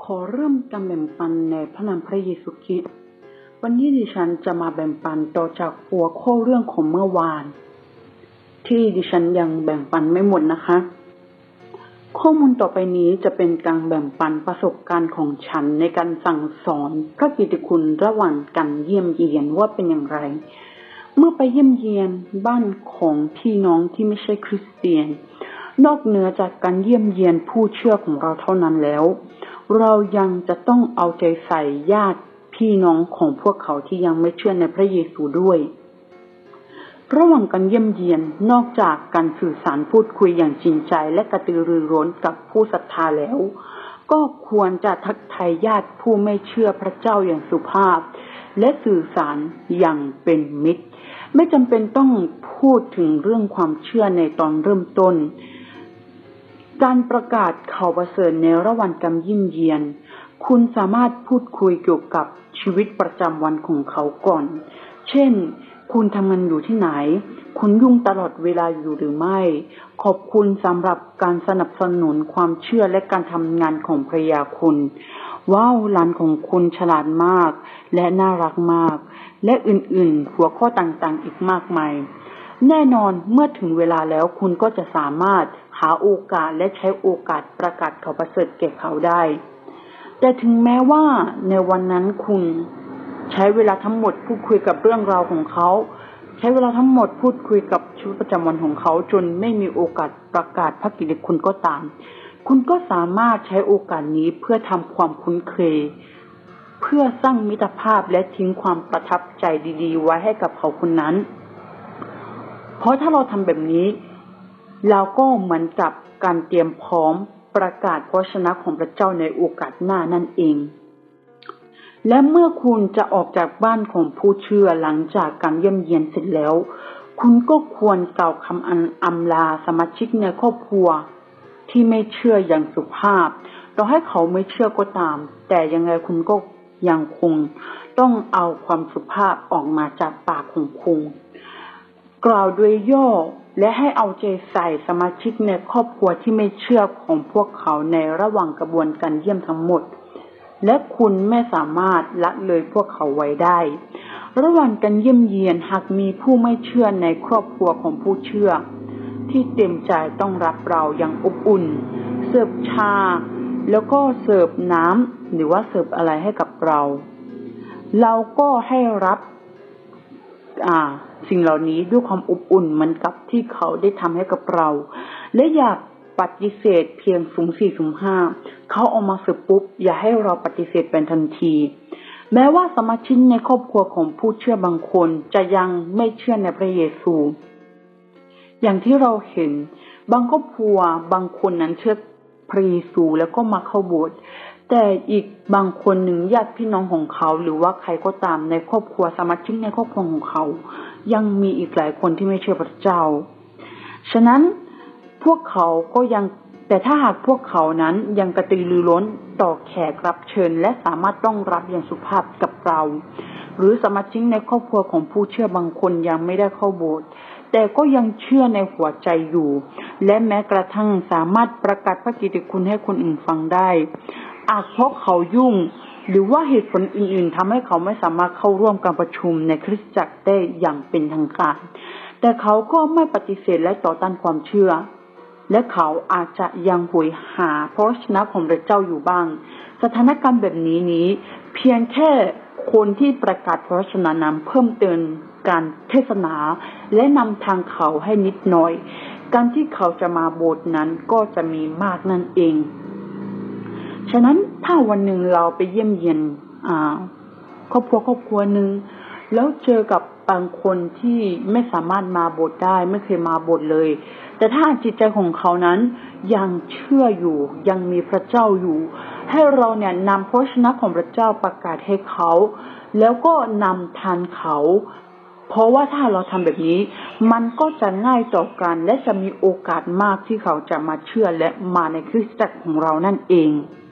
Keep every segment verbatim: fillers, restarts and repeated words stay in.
ขอเริ่มการแบ่งปันในพระนามพระเยซูคริสต์วันนี้ดิฉันจะมาแบ่งปันต่อจากหัวข้อเรื่องของเมื่อวานที่ดิฉันยังแบ่งปันไม่หมดนะคะข้อมูลต่อไปนี้จะเป็นการแบ่งปันประสบการณ์ของฉันในการสั่งสอนพระกิตติคุณระหว่างการเยี่ยมเยียนว่าเป็นอย่างไรเมื่อไปเยี่ยมเยียนบ้านของพี่น้องที่ไม่ใช่คริสเตียนนอกเหนือจากการเยี่ยมเยียนผู้เชื่อของเราเท่านั้นแล้วเรายังจะต้องเอาใจใส่ญาติพี่น้องของพวกเขาที่ยังไม่เชื่อในพระเยซูด้วยระหว่างการเยี่ยมเยียนนอกจากการสื่อสารพูดคุยอย่างจริงใจและกระตือรือร้นกับผู้ศรัทธาแล้วก็ควรจะทักทายญาติผู้ไม่เชื่อพระเจ้าอย่างสุภาพและสื่อสารอย่างเป็นมิตรไม่จำเป็นต้องพูดถึงเรื่องความเชื่อในตอนเริ่มต้นการประกาศข่าวประเสริฐในระหว่างการเยี่ยมเยียนคุณสามารถพูดคุยเกี่ยวกับชีวิตประจำวันของเขาก่อนเช่นคุณทำงานอยู่ที่ไหนคุณยุ่งตลอดเวลาอยู่หรือไม่ขอบคุณสำหรับการสนับสนุนความเชื่อและการทำงานของภรรยาคุณว้าวหลานของคุณฉลาดมากและน่ารักมากและอื่นๆหัวข้อต่างๆอีกมากมายแน่นอนเมื่อถึงเวลาแล้วคุณก็จะสามารถหาโอกาสและใช้โอกาสประกาศข่าวประเสริฐแก่เขาได้แต่ถึงแม้ว่าในวันนั้นคุณใช้เวลาทั้งหมดพูดคุยกับเรื่องราวของเขาใช้เวลาทั้งหมดพูดคุยกับชีวิตประจำวันของเขาจนไม่มีโอกาสประกาศพระกิตติคุณก็ตามคุณก็สามารถใช้โอกาสนี้เพื่อทำความคุ้นเคยเพื่อสร้างมิตรภาพและทิ้งความประทับใจดีๆไว้ให้กับเขาคนนั้นเพราะถ้าเราทำแบบนี้เราก็เหมือนกับการเตรียมพร้อมประกาศพระวจนะของพระเจ้าในโอกาสหน้านั่นเองและเมื่อคุณจะออกจากบ้านของผู้เชื่อหลังจากการเยี่ยมเยียนเสร็จแล้วคุณก็ควรกล่าวคำอำลาสมาชิกในครอบครัวที่ไม่เชื่ออย่างสุภาพต่อให้เขาไม่เชื่อก็ตามแต่ยังไงคุณก็ยังคงต้องเอาความสุภาพออกมาจากปากของคุณกล่าวโดยย่อและให้เอาใจใส่สมาชิกในครอบครัวที่ไม่เชื่อของพวกเขาในระหว่างกระบวนการเยี่ยมทั้งหมดและคุณไม่สามารถละเลยพวกเขาไว้ได้ระหว่างการเยี่ยมเยียนหากมีผู้ไม่เชื่อในครอบครัวของผู้เชื่อที่เต็มใจต้องรับเราอย่างอบอุ่นเสิร์ฟชาแล้วก็เสิร์ฟน้ำหรือว่าเสิร์ฟอะไรให้กับเราเราก็ให้รับอ่าสิ่งเหล่านี้ด้วยความอบอุ่นเหมือนกับที่เขาได้ทำให้กับเราและอย่าปฏิเสธเพียงสุ่มสี่สุ่มห้าเขาเอามาเสิร์ฟปุ๊บอย่าให้เราปฏิเสธเป็นทันทีแม้ว่าสมาชิกในครอบครัวของผู้เชื่อบางคนจะยังไม่เชื่อในพระเยซูอย่างที่เราเห็นบางครอบครัวบางคนนั้นเชื่อพระเยซูแล้วก็มาเข้าโบสถ์แต่อีกบางคนหนึ่งญาติพี่น้องของเขาหรือว่าใครก็ตามในครอบครัวสมาชิกในครอบครัวของเขายังมีอีกหลายคนที่ไม่เชื่อพระเจ้าฉะนั้นพวกเขาก็ยังแต่ถ้าหากพวกเขานั้นยังกระตือรือร้นต่อแขกรับเชิญและสามารถต้องรับอย่างสุภาพกับเราหรือสมาชิกในครอบครัวของผู้เชื่อบางคนยังไม่ได้เข้าโบสถ์แต่ก็ยังเชื่อในหัวใจอยู่และแม้กระทั่งสามารถประกาศพระกิตติคุณให้คนอื่นฟังได้อาจเพราะเขายุ่งหรือว่าเหตุผลอื่นๆทำให้เขาไม่สามารถเข้าร่วมการประชุมในคริสตจักรได้อย่างเป็นทางการแต่เขาก็ไม่ปฏิเสธและต่อต้านความเชื่อและเขาอาจจะยังหวยหาพระวจนะของพระเจ้าอยู่บ้างสถานการณ์แบบนี้นี้เพียงแค่คนที่ประกาศพระวจนะนั้นเพิ่มเติมการเทศนาและนำทางเขาให้นิดหน่อยการที่เขาจะมาโบสถ์นั้นก็จะมีมากนั่นเองฉะนั้นถ้าวันหนึ่งเราไปเยี่ยมเยียนอ่าครอบครัวครอบครัวหนึ่งแล้วเจอกับบางคนที่ไม่สามารถมาโบสถ์ได้ไม่เคยมาโบสถ์เลยแต่ถ้าจิตใจของเขานั้นยังเชื่ออยู่ยังมีพระเจ้าอยู่ให้เราเนี่ยนำพระวจนะของพระเจ้าประกาศให้เขาแล้วก็นำทานเขาเพราะว่าถ้าเราทำแบบนี้มันก็จะง่ายต่อกันและจะมีโอกาสมากที่เขาจะมาเชื่อและมาในคริสตจักรของเรานั่นเอง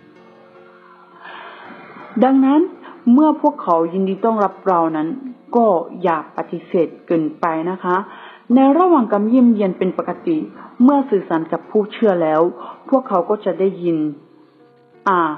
ดังนั้นเมื่อพวกเขายินดีต้อนรับเรานั้นก็อย่าปฏิเสธเกินไปนะคะในระหว่างการเยี่ยมเยียนเป็นปกติเมื่อสื่อสารกับผู้เชื่อแล้วพวกเขาก็จะได้ยินอ่า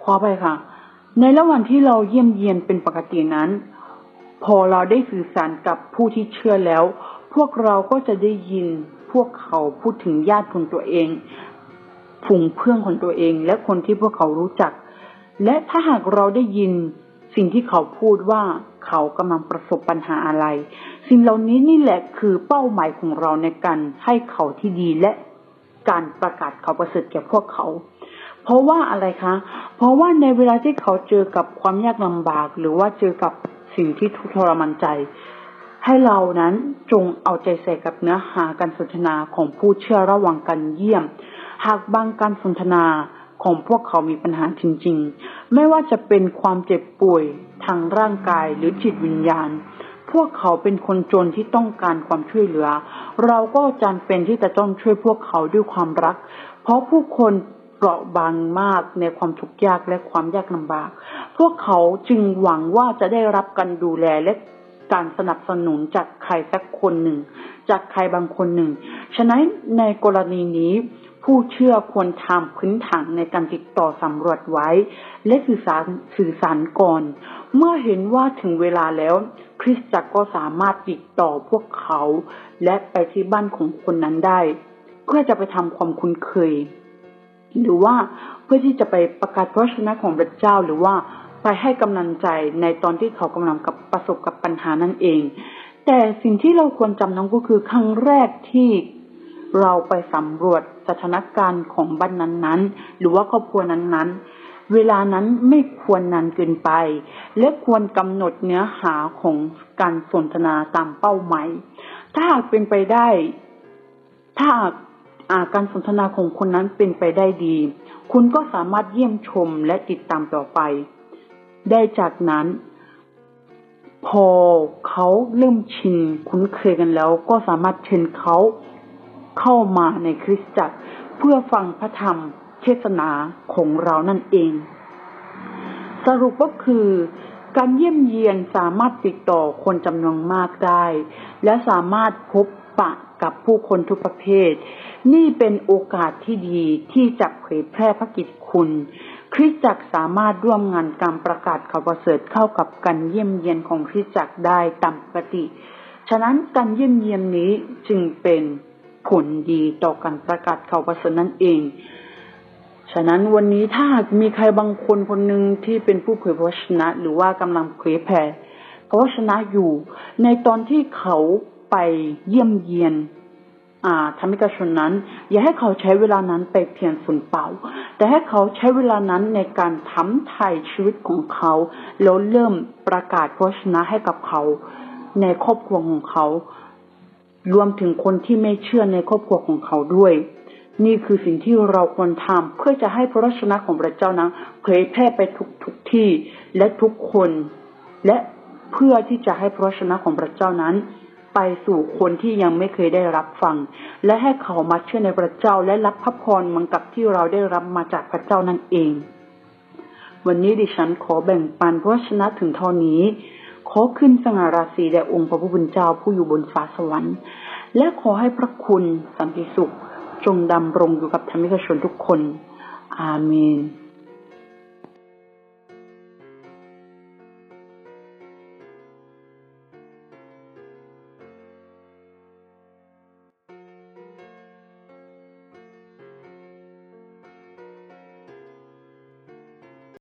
ขอไปค่ะในระหว่างที่เราเยี่ยมเยียนเป็นปกตินั้นพอเราได้สื่อสารกับผู้ที่เชื่อแล้วพวกเราก็จะได้ยินพวกเขาพูดถึงญาติของตัวเองฝูงเพื่อนของตัวเองและคนที่พวกเขารู้จักและถ้าหากเราได้ยินสิ่งที่เขาพูดว่าเขากำลังประสบปัญหาอะไรสิ่งเหล่านี้นี่แหละคือเป้าหมายของเราในการให้เขาที่ดีและการประกาศเขาประเสริฐแก่พวกเขาเพราะว่าอะไรคะเพราะว่าในเวลาที่เขาเจอกับความยากลำบากหรือว่าเจอกับสิ่งที่ทุกข์ทรมานใจให้เรานั้นจงเอาใจใส่กับเนื้อหาการสนทนาของผู้เชื่อระหว่างการเยี่ยมหากบางการสนทนาของพวกเขามีปัญหาจริงๆไม่ว่าจะเป็นความเจ็บป่วยทางร่างกายหรือจิตวิญญาณพวกเขาเป็นคนจนที่ต้องการความช่วยเหลือเราก็จำเป็นที่จะต้องช่วยพวกเขาด้วยความรักเพราะผู้คนเปราะบางมากในความทุกข์ยากและความยากลำบากพวกเขาจึงหวังว่าจะได้รับการดูแลและการสนับสนุนจากใครสักคนหนึ่งจากใครบางคนหนึ่งฉะนั้นในกรณีนี้ผู้เชื่อควรทำพื้นฐานในการติดต่อสำรวจไว้และสื่อสารสื่อสารก่อนเมื่อเห็นว่าถึงเวลาแล้วคริสตจักรก็สามารถติดต่อพวกเขาและไปที่บ้านของคนนั้นได้เพื่อจะไปทำความคุ้นเคยหรือว่าเพื่อที่จะไปประกาศพระชนะของพระเจ้าหรือว่าไปให้กำลังใจในตอนที่เขากำลังกับประสบกับปัญหานั่นเองแต่สิ่งที่เราควรจำนั้นก็คือครั้งแรกที่เราไปสำรวจสถานการณ์ของบ้านนั้นๆหรือว่าครอบครัวนั้นๆเวลานั้นไม่ควรนานเกินไปและควรกำหนดเนื้อหาของการสนทนาตามเป้าหมายถ้าหากเป็นไปได้ถ้าการสนทนาของคนนั้นเป็นไปได้ดีคุณก็สามารถเยี่ยมชมและติดตามต่อไปได้จากนั้นพอเขาเริ่มชินคุ้นเคยกันแล้วก็สามารถเชิญเขาเข้ามาในคริสตจักรเพื่อฟังพระธรรมเทศนาของเรานั่นเองสรุปก็คือการเยี่ยมเยียนสามารถติดต่อคนจำนวนมากได้และสามารถพบปะกับผู้คนทุกประเภทนี่เป็นโอกาสที่ดีที่จะเผยแพร่พระกิตติคุณคริสตจักรสามารถร่วมงานการประกาศข่าวประเสริฐเข้ากับการเยี่ยมเยียนของคริสตจักรได้ตามปกติฉะนั้นการเยี่ยมเยียนนี้จึงเป็นผลดีต่อการประกาศข่าวประเสริฐนั่นเองฉะนั้นวันนี้ถ้ามีใครบางคนคนหนึ่งที่เป็นผู้เผยพระวจนะหรือว่ากำลังเผยแผ่พระวจนะอยู่ในตอนที่เขาไปเยี่ยมเยียนอ่าธรรมิกชนนั้นอย่าให้เขาใช้เวลานั้นไปเพียงสูญเปล่าแต่ให้เขาใช้เวลานั้นในการทำไถ่ชีวิตของเขาแล้วเริ่มประกาศพระวจนะให้กับเขาในครอบครัวของเขารวมถึงคนที่ไม่เชื่อในครอบครัวของเขาด้วยนี่คือสิ่งที่เราควรทำเพื่อจะให้พระวจนะของพระเจ้านั้นเผยแพร่ไปทุกทุกที่และทุกคนและเพื่อที่จะให้พระวจนะของพระเจ้านั้นไปสู่คนที่ยังไม่เคยได้รับฟังและให้เขามาเชื่อในพระเจ้าและรับพระพรเหมือนกับที่เราได้รับมาจากพระเจ้านั่นเองวันนี้ดิฉันขอแบ่งปันพระวจนะถึงเท่านี้ขอขึ้นสง่าราศีแด่องค์พระผู้เป็นเจ้าผู้อยู่บนฟ้าสวรรค์และขอให้พระคุณสันติสุขจงดำรงอยู่กับธรรมิกชนทุกคนอาเมน